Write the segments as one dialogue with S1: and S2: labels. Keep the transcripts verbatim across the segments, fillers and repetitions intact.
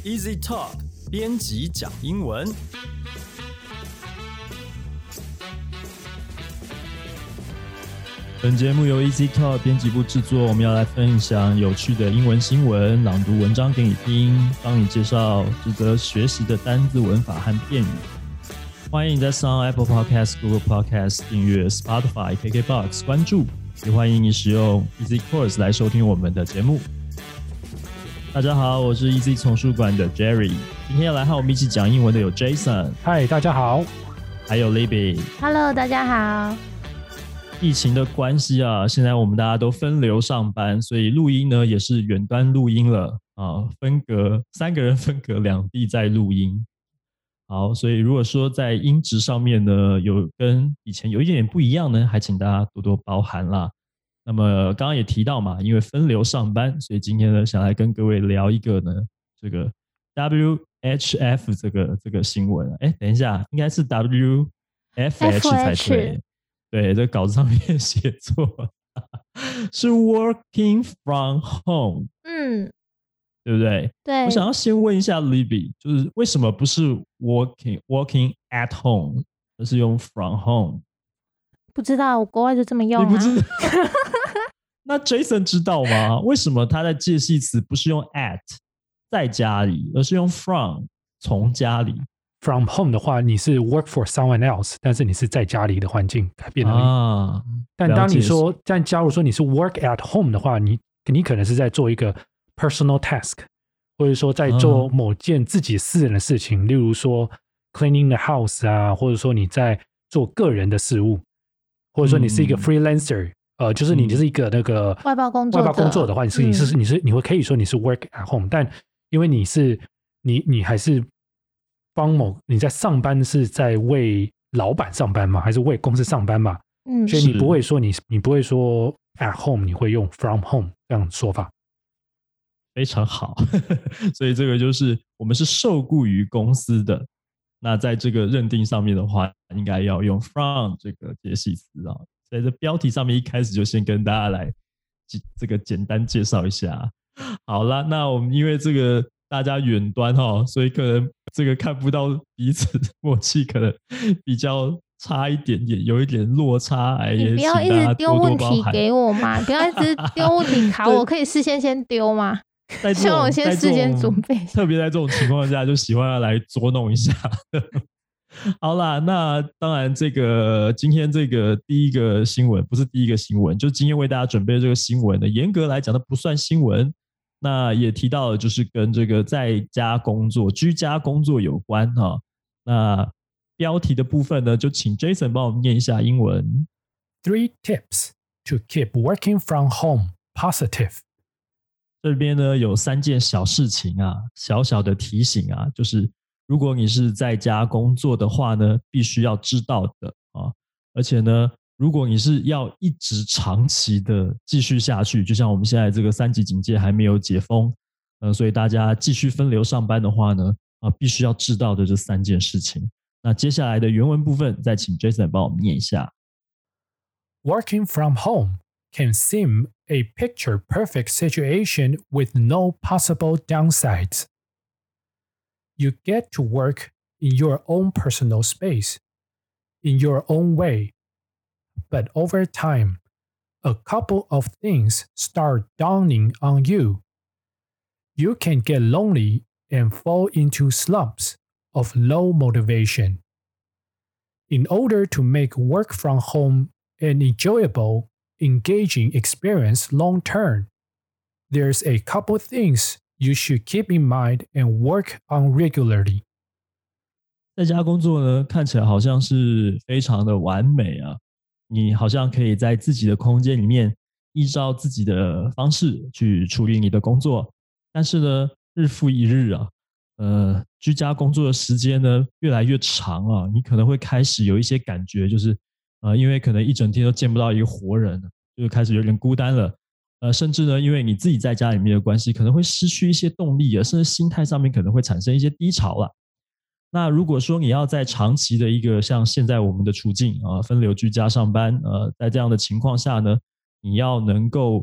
S1: Easy Talk 编辑讲英文。本节目由 Easy Talk 编辑部制作，我们要来分享有趣的英文新闻，朗读文章给你听，帮你介绍值得学习的单字、文法和片语。欢迎你在 Sound Apple Podcast、Google Podcast 订阅 Spotify、K K Box 关注，也欢迎你使用 Easy Course 来收听我们的节目。大家好，我是 Easy 丛书馆的 Jerry， 今天要来和我们一起讲英文的有 Jason，
S2: 嗨，大家好，
S1: 还有 Libby，
S3: Hello， 大家好。
S1: 疫情的关系啊，现在我们大家都分流上班，所以录音呢也是远端录音了啊，分隔三个人分隔两地在录音。好，所以如果说在音质上面呢有跟以前有一点点不一样呢，还请大家多多包涵啦。那么刚刚也提到嘛，因为分流上班，所以今天呢想来跟各位聊一个呢这个 W H F 这个这个新闻。哎，等一下，应该是 W F H 才对。对，这稿子上面写错是 working from home，
S3: 嗯，
S1: 对不对？
S3: 对。
S1: 我想要先问一下 Libby， 就是为什么不是 working working at home， 而是用 from home？
S3: 不知道，国外就这么用啊。
S1: 你不知道？那 Jason 知道吗？为什么他在介系词不是用 at 在家里，而是用 from 从家里
S2: ？From home 的话，你是 work for someone else， 但是你是在家里的环境改变而已。啊、但当你说，但假如说你是 work at home 的话，你你可能是在做一个 personal task， 或者说在做某件自己私人的事情，啊、例如说 cleaning the house 啊，或者说你在做个人的事务，或者说你是一个 freelancer，、嗯、呃，就是你就是一个那个
S3: 外包工作
S2: 外包工作的话，你是、嗯、你是你是你会可以说你是 work at home， 但因为你是你你还是帮某你在上班是在为老板上班吗？还是为公司上班嘛？嗯，所以你不会说你你不会说 at home， 你会用 from home 这样说法。
S1: 非常好，所以这个就是我们是受雇于公司的。那在这个认定上面的话，应该要用 from 这个介系词啊。在这标题上面一开始就先跟大家来这个简单介绍一下。好啦，那我们因为这个大家远端哈，所以可能这个看不到彼此默契，可能比较差一点点，有一点落差。哎，
S3: 你不要一直丢问题给我嘛，不要一直丢问题考我，可以事先先丢吗？像我先事先准备。
S1: 特别在这种情况下，就喜欢要来捉弄一下。好啦，那当然，这个今天这个第一个新闻不是第一个新闻，就今天为大家准备的这个新闻呢，严格来讲，它不算新闻。那也提到了，就是跟这个在家工作、居家工作有关哈。那标题的部分呢，就请 Jason 帮我们念一下英文。
S2: Three tips to keep working from home positive。
S1: 这边呢有三件小事情啊，小小的提醒啊，就是如果你是在家工作的话呢，必须要知道的啊，而且呢，如果你是要一直长期的继续下去，就像我们现在这个三级警戒还没有解封，呃，所以大家继续分流上班的话呢，啊，必须要知道的这三件事情。那接下来的原文部分，再请 Jason 帮我们念一下。
S2: Working from home can seem a picture-perfect situation with no possible downsides. You get to work in your own personal space, in your own way.But over time, a couple of things start dawning on you. You can get lonely and fall into slumps of low motivation. In order to make work from home an enjoyable, engaging experience long term, there's a couple things you should keep in mind and work on regularly.
S1: 在家工作呢，看起来好像是非常的完美啊。你好像可以在自己的空间里面依照自己的方式去处理你的工作，但是呢，日复一日啊，呃，居家工作的时间呢越来越长啊，你可能会开始有一些感觉，就是呃，因为可能一整天都见不到一个活人，就开始有点孤单了，呃，甚至呢，因为你自己在家里面的关系，可能会失去一些动力啊，甚至心态上面可能会产生一些低潮了。那如果说你要在长期的一个像现在我们的处境啊，分流居家上班，呃，在这样的情况下呢，你要能够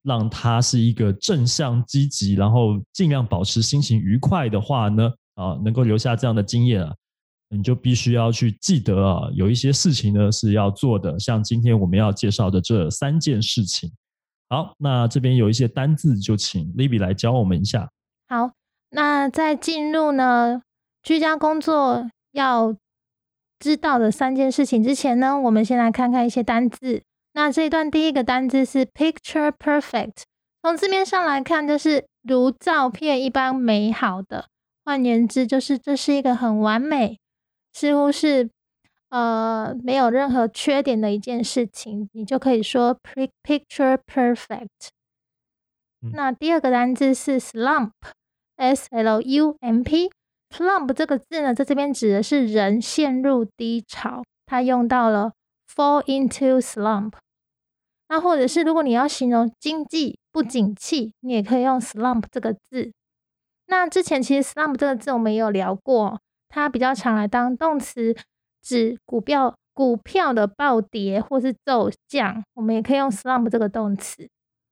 S1: 让他是一个正向积极，然后尽量保持心情愉快的话呢，啊，能够留下这样的经验啊，你就必须要去记得啊，有一些事情呢是要做的，像今天我们要介绍的这三件事情。好，那这边有一些单字，就请 Libby 来教我们一下。
S3: 好，那在进入呢居家工作要知道的三件事情之前呢，我们先来看看一些单字。那这一段第一个单字是 picture perfect， 从字面上来看就是如照片一般美好的，换言之就是这是一个很完美，似乎是呃没有任何缺点的一件事情，你就可以说 picture perfect。嗯、那第二个单字是 slump， S L U M P。slump 这个字呢，在这边指的是人陷入低潮，它用到了 fall into slump。那或者是如果你要形容经济不景气，你也可以用 slump 这个字。那之前其实 slump 这个字我们也有聊过，它比较常来当动词，指股票股票的暴跌或是骤降，我们也可以用 slump 这个动词。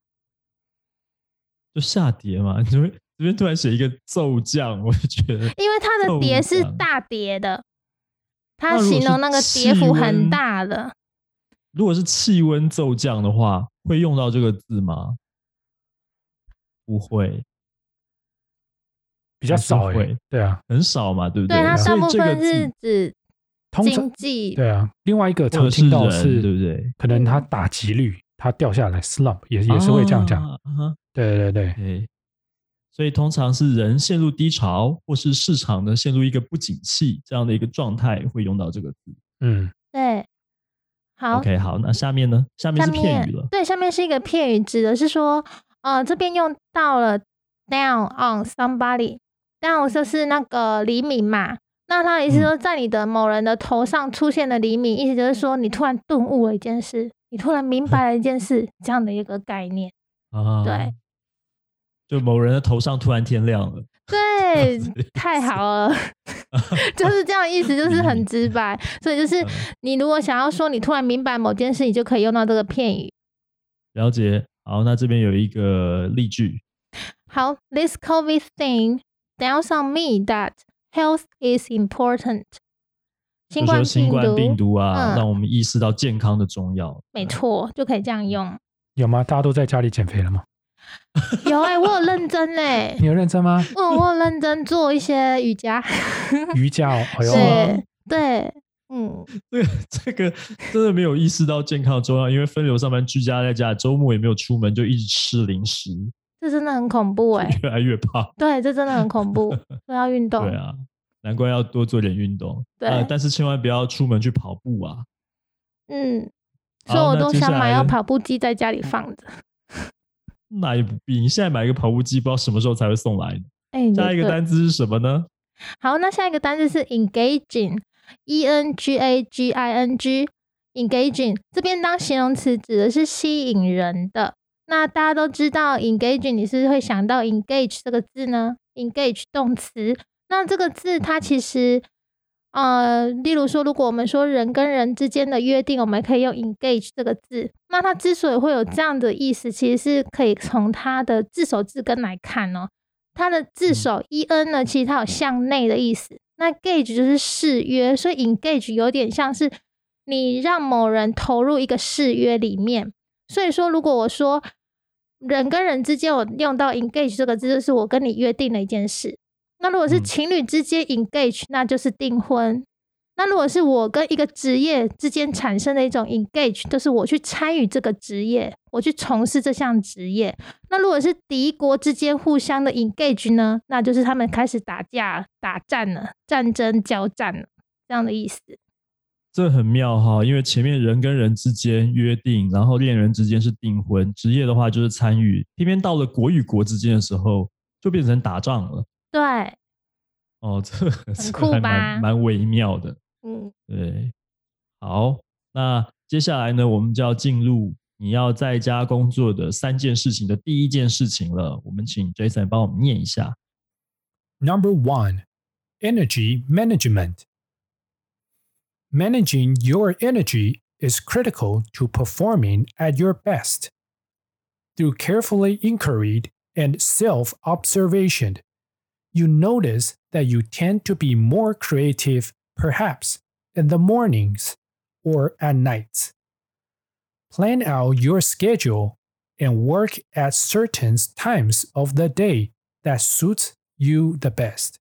S1: 就下跌嘛，这边这边突然写一个骤降，我就觉得，
S3: 因为它的跌是大跌的，它形容那个跌幅很大的。
S1: 如果是气温骤降的话，会用到这个字吗？不会，
S2: 比较少哎、欸，对啊，
S1: 很少嘛，对不对？
S3: 对，它大部分是指经济，
S2: 对啊。另外一个常听到是，
S1: 对不对？
S2: 可能它打击率它掉下来 ，slump 也也是会这样讲。
S1: 啊、
S2: 对对对
S1: 对，所以通常是人陷入低潮，或是市场呢陷入一个不景气这样的一个状态，会用到这个字。
S2: 嗯，
S3: 对。好
S1: ，OK， 好，那下面呢？下面是片语了。
S3: 对，下面是一个片语，指的是说，呃，这边用到了 down on somebody。down 就是那个黎明嘛，那他的意思说，在你的某人的头上出现了黎明，嗯、意思就是说，你突然顿悟了一件事，你突然明白了一件事，这样的一个概念。
S1: 啊，
S3: 对，
S1: 就某人的头上突然天亮了。
S3: 对，太好了，就是这样意思，就是很直白。所以就是你如果想要说你突然明白某件事，你就可以用到这个片语。
S1: 了解。好，那这边有一个例句。
S3: 好 ，This COVID thing dawns on me that health is important。新冠病毒，
S1: 新冠病毒啊、嗯，让我们意识到健康的重要。
S3: 没错，就可以这样用。
S2: 有吗？大家都在家里减肥了吗？
S3: 有哎、欸，我有认真哎、欸。
S2: 你有认真吗？
S3: 嗯，我有认真做一些瑜伽。
S2: 瑜伽哦，哎呦，
S3: 对对，嗯，
S1: 这个这个真的没有意识到健康的重要，因为分流上班居家在家，周末也没有出门，就一直吃零食，
S3: 这真的很恐怖哎、欸，
S1: 越来越胖。
S3: 对，这真的很恐怖，都要运动。
S1: 对啊，难怪要多做点运动。
S3: 对、
S1: 呃，但是千万不要出门去跑步啊。
S3: 嗯，所以我都想买要跑步机在家里放着。
S1: 那也不必，你现在买一个跑步机，不知道什么时候才会送来的。
S3: 欸、
S1: 下一个单字是什么呢？
S3: 好，那下一个单字是 engaging，E N G A G I N G。engaging 这边当形容词指的是吸引人的。那大家都知道 engaging， 你是不是会想到 engage 这个字呢？ engage 动词，那这个字它其实呃，例如说，如果我们说人跟人之间的约定，我们可以用 engage 这个字。那它之所以会有这样的意思，其实是可以从它的字首字根来看哦。它的字首 en 呢，其实它有向内的意思。那 gauge 就是誓约，所以 engage 有点像是你让某人投入一个誓约里面。所以说，如果我说人跟人之间，我用到 engage 这个字，就是我跟你约定了一件事。那如果是情侣之间 engage， 那就是订婚。那如果是我跟一个职业之间产生的一种 engage， 就是我去参与这个职业，我去从事这项职业。那如果是敌国之间互相的 engage 呢，那就是他们开始打架、打战了，战争交战了，这样的意思。
S1: 这很妙哈，因为前面人跟人之间约定，然后恋人之间是订婚，职业的话就是参与，偏偏到了国与国之间的时候，就变成打仗了。
S3: 对，
S1: 哦，这
S3: 很酷吧？
S1: 蛮蛮微妙的。
S3: 嗯，
S1: 对。好，那接下来呢，我们就要进入你要在家工作的三件事情的第一件事情了。我们请 Jason 帮我们念一下。
S2: Number one, energy management. Managing your energy is critical to performing at your best. Through carefully inquiry and self-observation, you notice that you tend to be more creative, perhaps, in the mornings or at nights. Plan out your schedule and work at certain times of the day that suits you the best.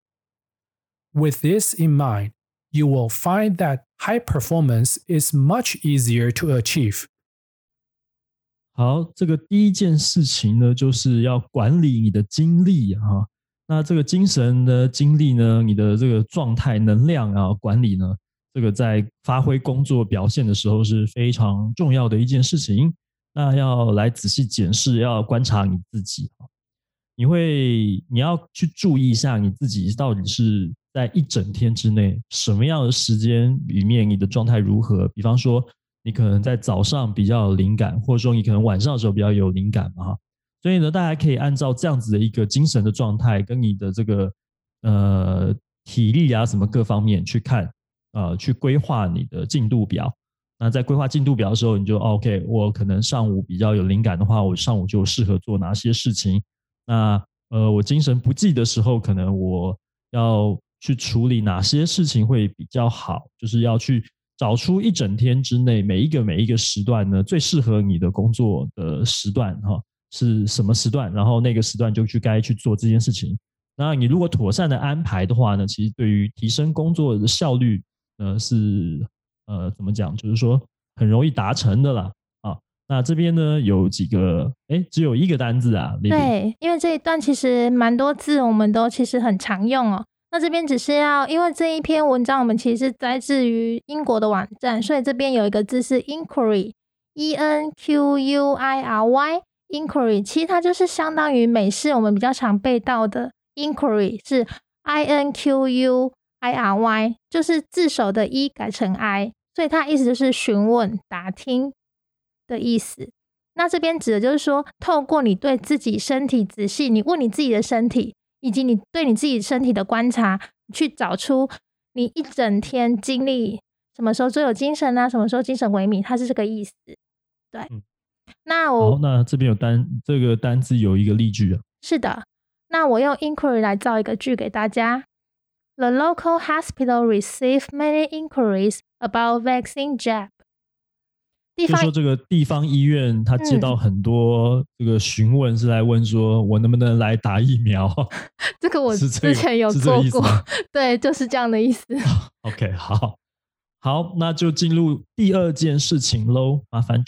S2: With this in mind, you will find that high performance is much easier to achieve.
S1: 好，这个第一件事情呢，就是要管理你的精力啊。那这个精神的精力呢，你的这个状态、能量啊，管理呢，这个在发挥工作表现的时候是非常重要的一件事情。那要来仔细检视，要观察你自己。你会，你要去注意一下你自己到底是在一整天之内什么样的时间里面你的状态如何。比方说，你可能在早上比较有灵感，或者说你可能晚上的时候比较有灵感嘛。所以呢，大家可以按照这样子的一个精神的状态，跟你的这个呃体力啊什么各方面去看，呃，去规划你的进度表。那在规划进度表的时候，你就 OK， 我可能上午比较有灵感的话，我上午就适合做哪些事情。那呃，我精神不济的时候，可能我要去处理哪些事情会比较好，就是要去找出一整天之内每一个每一个时段呢，最适合你的工作的时段哈，是什么时段，然后那个时段就去该去做这件事情。那你如果妥善的安排的话呢，其实对于提升工作的效率呢是呃怎么讲，就是说很容易达成的啦。啊，那这边呢有几个，哎，只有一个单字啊。
S3: 对，因为这一段其实蛮多字，我们都其实很常用哦。那这边只是要，因为这一篇文章我们其实是摘自于英国的网站，所以这边有一个字是 inquiry，E N Q U I R Y，inquiry， 其实它就是相当于美式我们比较常背到的 inquiry 是 I N Q U I R Y， 就是字首的 E 改成 I， 所以它意思就是询问、打听的意思。那这边指的就是说，透过你对自己身体仔细，你问你自己的身体，以及你对你自己身体的观察，去找出你一整天经历什么时候最有精神啊，什么时候精神萎靡，它是这个意思。对，
S1: 嗯、
S3: 那我
S1: 好，那这边有单这个单字有一个例句啊。
S3: 是的，那我用 inquiry 来造一个句给大家。The local hospital received many inquiries about vaccine jab。
S1: 就说这个地方医院，他接到很多这个询问，是来问说我能不能来打疫苗？
S3: 这个我之前有做过，对，就是这样的意思。
S1: OK， 好，好，那就进入第二件事情喽，麻烦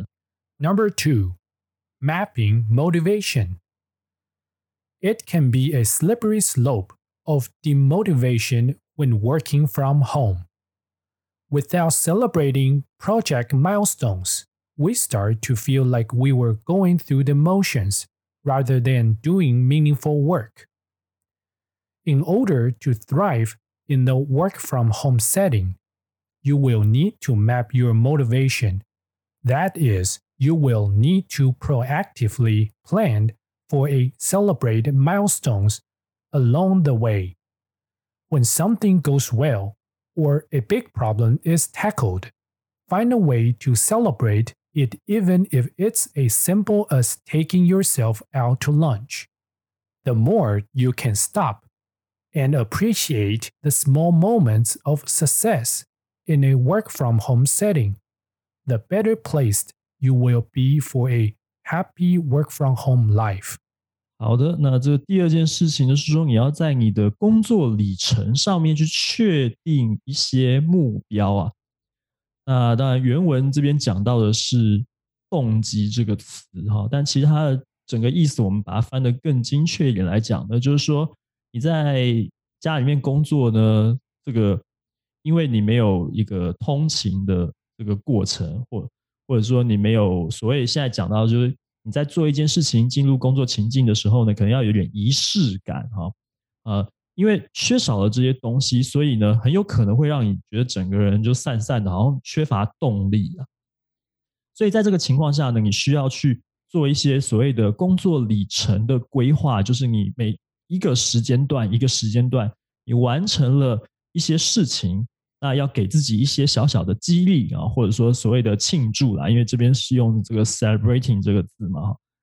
S1: Jason。
S2: Number two, mapping motivation. It can be a slippery slope of demotivation when working from home.Without celebrating project milestones, we start to feel like we were going through the motions rather than doing meaningful work. In order to thrive in the work from home setting, you will need to map your motivation. That is, you will need to proactively plan for a celebrate milestones along the way. When something goes well,or a big problem is tackled, find a way to celebrate it even if it's as simple as taking yourself out to lunch. The more you can stop and appreciate the small moments of success in a work-from-home setting, the better placed you will be for a happy work-from-home life.
S1: 好的，那这第二件事情就是说，你要在你的工作里程上面去确定一些目标啊。那当然，原文这边讲到的是动机这个词哈，但其实它的整个意思，我们把它翻得更精确一点来讲呢，就是说你在家里面工作呢，这个因为你没有一个通勤的这个过程，或或者说你没有所谓现在讲到就是。你在做一件事情进入工作情境的时候呢，可能要有点仪式感哈，呃，因为缺少了这些东西，所以呢，很有可能会让你觉得整个人就散散的，好像缺乏动力啊。所以在这个情况下呢，你需要去做一些所谓的工作里程的规划，就是你每一个时间段一个时间段，你完成了一些事情。那要给自己一些小小的激励啊，或者说所谓的庆祝啦，因为这边是用这个 celebrating 这个字嘛，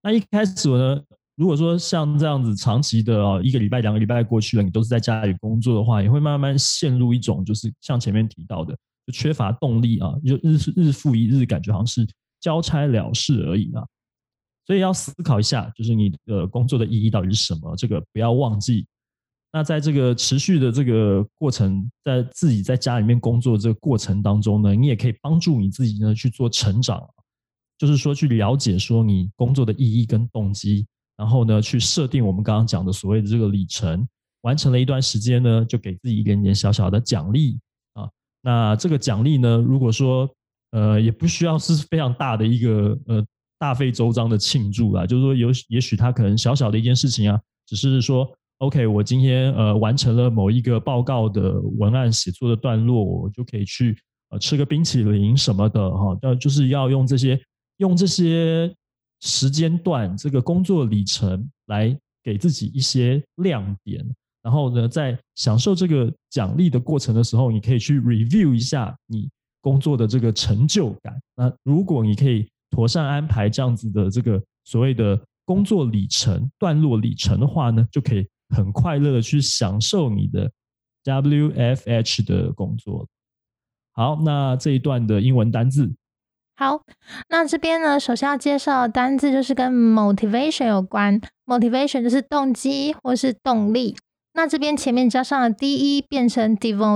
S1: 那一开始呢，如果说像这样子长期的哦，一个礼拜、两个礼拜过去了，你都是在家里工作的话，也会慢慢陷入一种就是像前面提到的，就缺乏动力啊，就日日复一日，感觉好像是交差了事而已啊。所以要思考一下，就是你的工作的意义到底是什么，这个不要忘记。那在这个持续的这个过程，在自己在家里面工作这个过程当中呢，你也可以帮助你自己呢去做成长，就是说去了解说你工作的意义跟动机，然后呢去设定我们刚刚讲的所谓的这个里程，完成了一段时间呢，就给自己一点点小小的奖励啊。那这个奖励呢，如果说呃也不需要是非常大的一个呃大费周章的庆祝啦，就是说有也许它可能小小的一件事情啊，只是说 OK， 我今天呃完成了某一个报告的文案写作的段落，我就可以去呃吃个冰淇淋什么的哈，要就是要用这些用这些时间段这个工作里程来给自己一些亮点，然后呢，在享受这个奖励的过程的时候，你可以去 review 一下你工作的这个成就感。那如果你可以妥善安排这样子的这个所谓的工作里程、段落里程的话呢，就可以很快乐的去享受你的 W F H 的工作。好，那这一段的英文单字。
S3: 好，那这边呢，首先要介绍的单字就是跟 motivation 有关。motivation 就是动机或是动力。那这边前面加上了 de 变成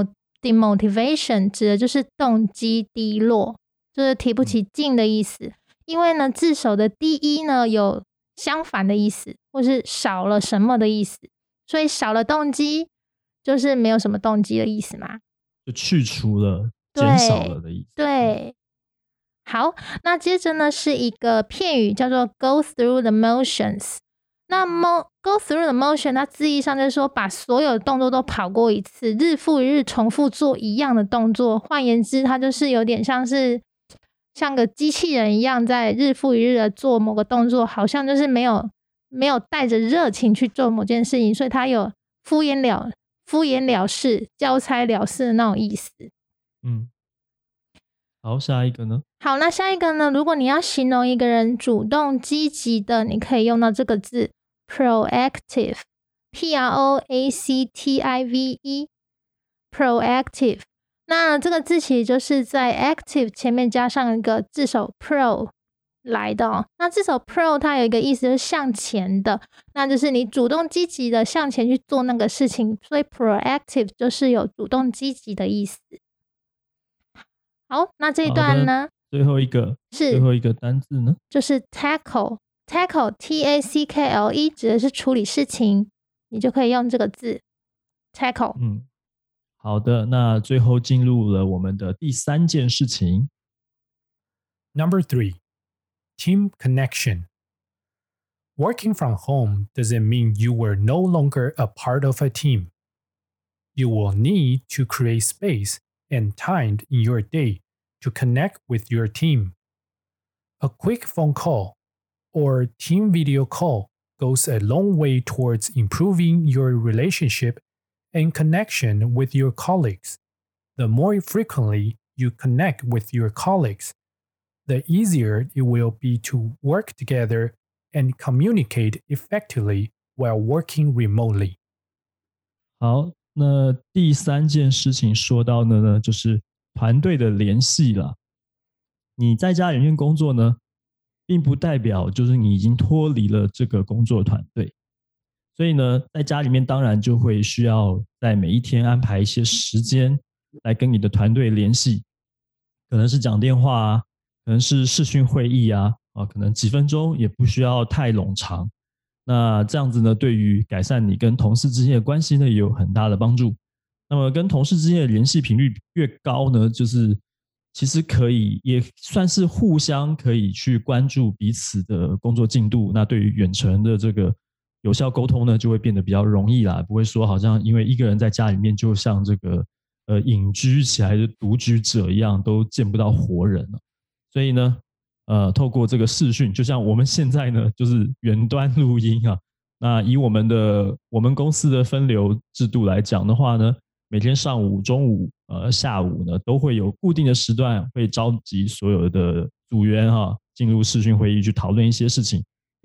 S3: demotivation， 指的就是动机低落，就是提不起劲的意思。因为呢，字首的 de 呢有相反的意思，或是少了什么的意思。所以少了动机就是没有什么动机的意思嘛，
S1: 就去除了、减少了的意思。
S3: 对，好，那接着呢是一个片语叫做 go through the motions。那 mo go through the motion， 它字义上就是说把所有的动作都跑过一次，日复一日重复做一样的动作。换言之，它就是有点像是像个机器人一样，在日复一日的做某个动作，好像就是没有没有带着热情去做某件事情，所以它有敷衍了敷衍了事、交差了事的那种意思。
S1: 嗯，好，下一个呢？
S3: 好，那下一个呢？如果你要形容一个人主动积极的，你可以用到这个字 proactive， P R O A C T I V E， proactive。那这个字其实就是在 active 前面加上一个字首 pro 来的哦。那字首 pro 它有一个意思就是向前的，那就是你主动积极的向前去做那个事情，所以 proactive 就是有主动积极的意思。好，那这一段呢？
S1: 最后一个
S3: 是
S1: 最后一个单字呢？
S3: 就是 tackle tackle T A C K L E 指的是处理事情，你就可以用这个字 tackle。
S1: 嗯，好的，那最后进入了我们的第三件事情。
S2: Number three, team connection. Working from home doesn't mean you were no longer a part of a team. You will need to create space and time in your day to connect with your team. A quick phone call or team video call goes a long way towards improving your relationship and connection with your colleagues. The more frequently you connect with your colleagues, the easier it will be to work together and communicate effectively while working remotely.
S1: 好，那第三件事情说到的呢，就是团队的联系啦。你在家里面工作呢，并不代表就是你已经脱离了这个工作团队。所以呢，在家里面当然就会需要在每一天安排一些时间来跟你的团队联系，可能是讲电话啊，可能是视讯会议啊，啊，可能几分钟也不需要太冗长。那这样子呢，对于改善你跟同事之间的关系呢，也有很大的帮助。那么跟同事之间的联系频率越高呢，就是其实可以也算是互相可以去关注彼此的工作进度。那对于远程的这个有效沟通呢，就会变得比较容易啦，不会说好像因为一个人在家里面就像这个呃隐居起来的独居者一样，都见不到活人了。所以呢，呃，透过这个视讯，就像我们现在呢，就是远端录音啊。那以我们的我们公司的分流制度来讲的话呢，每天上午、中午、呃下午呢，都会有固定的时段，会召集所有的组员哈、啊，进入视讯会议去讨论一些事情。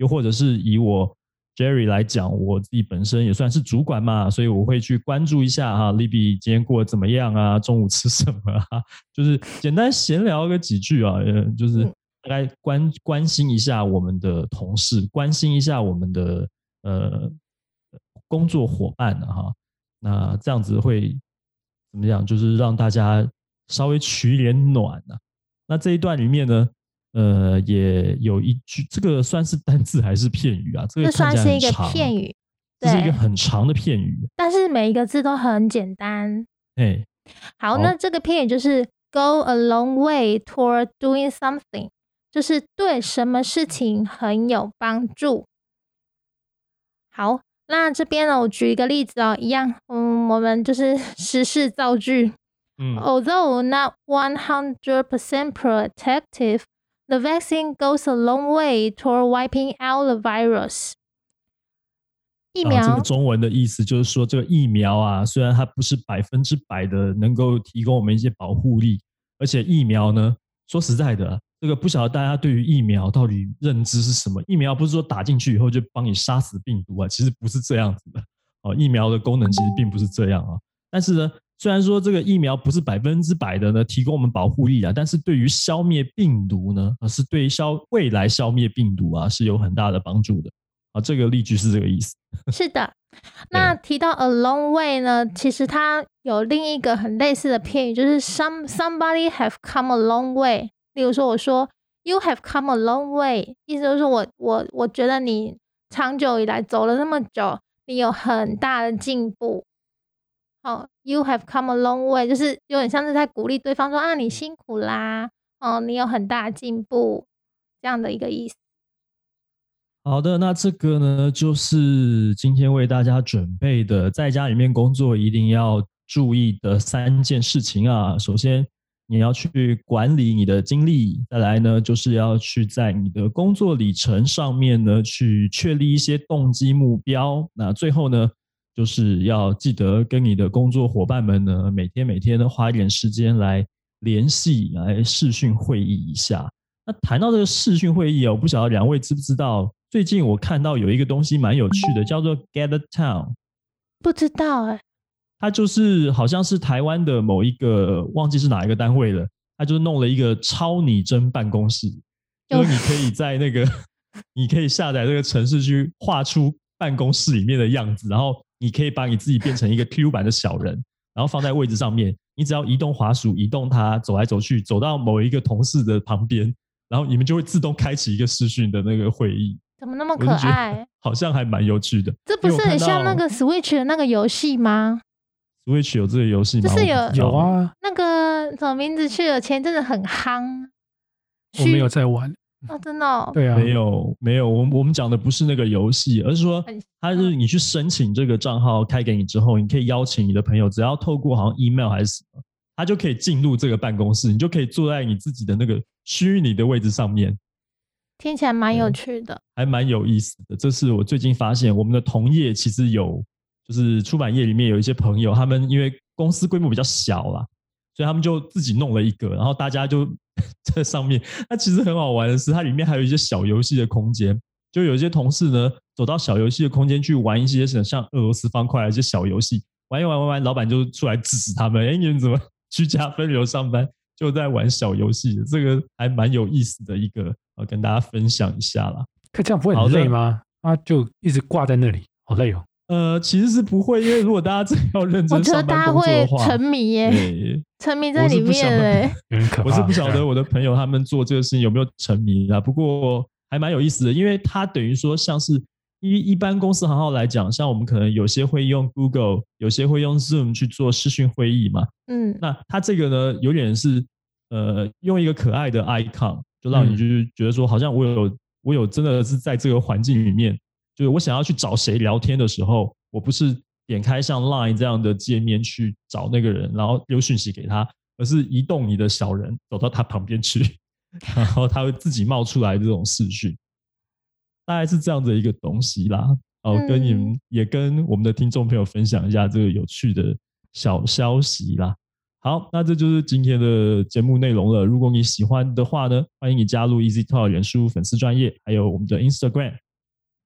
S1: 又或者是以我 Jerry 来讲，我自己本身也算是主管嘛，所以我会去关注一下哈 Libby 今天过得怎么样啊，中午吃什么啊，就是简单闲聊个几句啊，就是大概关关心一下我们的同事，关心一下我们的呃工作伙伴啊哈，那这样子会怎么样？就是让大家稍微取点暖啊。那这一段里面呢，呃，也有一句，这个算是单字还是片语啊？这个
S3: 这算是一个
S1: 看起来很长
S3: 片语，
S1: 这是一个很长的片语，
S3: 但是每一个字都很简单。
S1: 哎，
S3: 好，那这个片语就是 go a long way toward doing something， 就是对什么事情很有帮助。好，那这边呢，我举一个例子哦，一样，嗯，我们就是时事造句。嗯、Although not one hundred percent protective, the vaccine goes a long way toward wiping out the virus。疫苗、
S1: 啊、这个中文的意思就是说，这个疫苗啊，虽然它不是百分之百的能够提供我们一些保护力，而且疫苗呢，说实在的、啊，这个不晓得大家对于疫苗到底认知是什么？疫苗不是说打进去以后就帮你杀死病毒啊，其实不是这样子的。哦，疫苗的功能其实并不是这样啊。但是呢，虽然说这个疫苗不是百分之百的呢提供我们保护力啊，但是对于消灭病毒呢，啊、是对消未来消灭病毒啊是有很大的帮助的。啊，这个例句是这个意思。
S3: 是的，那提到 a long way 呢，其实它有另一个很类似的片语，就是 some somebody have come a long way。例如说，我说 you have come a long way， 意思就是说我我我觉得你长久以来走了那么久，你有很大的进步。哦 ，you have come a long way， 就是有点像是在鼓励对方说啊，你辛苦啦，哦，你有很大的进步，这样的一个意思。
S1: 好的，那这个呢，就是今天为大家准备的，在家里面工作一定要注意的三件事情啊。首先，你要去管理你的精力；再来呢，就是要去在你的工作里程上面呢，去确立一些动机目标。那最后呢，就是要记得跟你的工作伙伴们呢，每天每天呢，花一点时间来联系，来视讯会议一下。那谈到这个视讯会议啊，我不晓得两位知不知道？最近我看到有一个东西蛮有趣的，叫做 Gather Town。
S3: 不知道哎、欸，
S1: 它就是好像是台湾的某一个忘记是哪一个单位了，它就是弄了一个超拟真办公室，就是你可以在那个你可以下载这个程式去画出办公室里面的样子，然后你可以把你自己变成一个 Q 版的小人，然后放在位置上面，你只要移动滑鼠移动它，走来走去，走到某一个同事的旁边，然后你们就会自动开启一个视讯的那个会议。
S3: 怎么那么可爱？
S1: 好像还蛮有趣的。
S3: 这不是很像那个 Switch 的那个游戏吗？
S1: Switch 有这个游戏吗？
S3: 就是有
S2: 有啊，
S3: 那个什么名字去了，前阵子很夯。
S2: 我没有在玩
S3: 哦，真的、哦？
S2: 对啊，
S1: 没有没有，我们我们讲的不是那个游戏，而是说，它是你去申请这个账号开给你之后，你可以邀请你的朋友，只要透过好像 email 还是什么，他就可以进入这个办公室，你就可以坐在你自己的那个虚拟的位置上面。
S3: 听起来蛮有趣的，
S1: 还蛮有意思的。这是我最近发现，我们的同业其实有，就是出版业里面有一些朋友，他们因为公司规模比较小啦，所以他们就自己弄了一个，然后大家就在上面。那其实很好玩的是，它里面还有一些小游戏的空间，就有一些同事呢走到小游戏的空间去玩一些像俄罗斯方块的一些小游戏，玩一玩玩玩，老板就出来制止他们，哎，你们怎么居家分流上班？就在玩小游戏，这个还蛮有意思的一个，呃，跟大家分享一下啦。
S2: 可这样不会很累吗？啊，就一直挂在那里，好累哦。
S1: 呃，其实是不会，因为如果大家真的要认真上班工作的话，
S3: 我觉得大家会沉迷耶，沉迷在里面嘞。
S1: 我是不晓得我的朋友他们做这个事情有没有沉迷啦，不过还蛮有意思的，因为它等于说像是一一般公司行号来讲，像我们可能有些会用 Google， 有些会用 Zoom 去做视讯会议嘛。嗯，那它这个呢，有点是呃用一个可爱的 icon， 就让你就是觉得说，好像我有我有真的是在这个环境里面，就是我想要去找谁聊天的时候，我不是点开像 Line 这样的界面去找那个人，然后丢讯息给他，而是移动你的小人走到他旁边去，然后他会自己冒出来这种视讯。大概是这样的一个东西啦，哦，跟你们、嗯、也跟我们的听众朋友分享一下这个有趣的小消息啦。好，那这就是今天的节目内容了。如果你喜欢的话呢，欢迎你加入 EasyTalk 脸书粉丝专页，还有我们的 Instagram，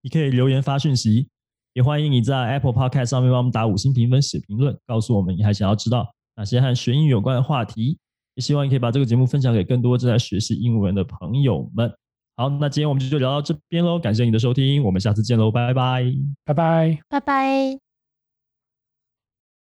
S1: 你可以留言发讯息，也欢迎你在 Apple Podcast 上面帮我们打五星评分写评论，告诉我们你还想要知道哪些和学英语有关的话题，也希望你可以把这个节目分享给更多正在学习英文的朋友们。好，那今天我们就聊到这边咯，感谢你的收听，我们下次见咯，拜拜，
S2: 拜拜，
S3: 拜拜。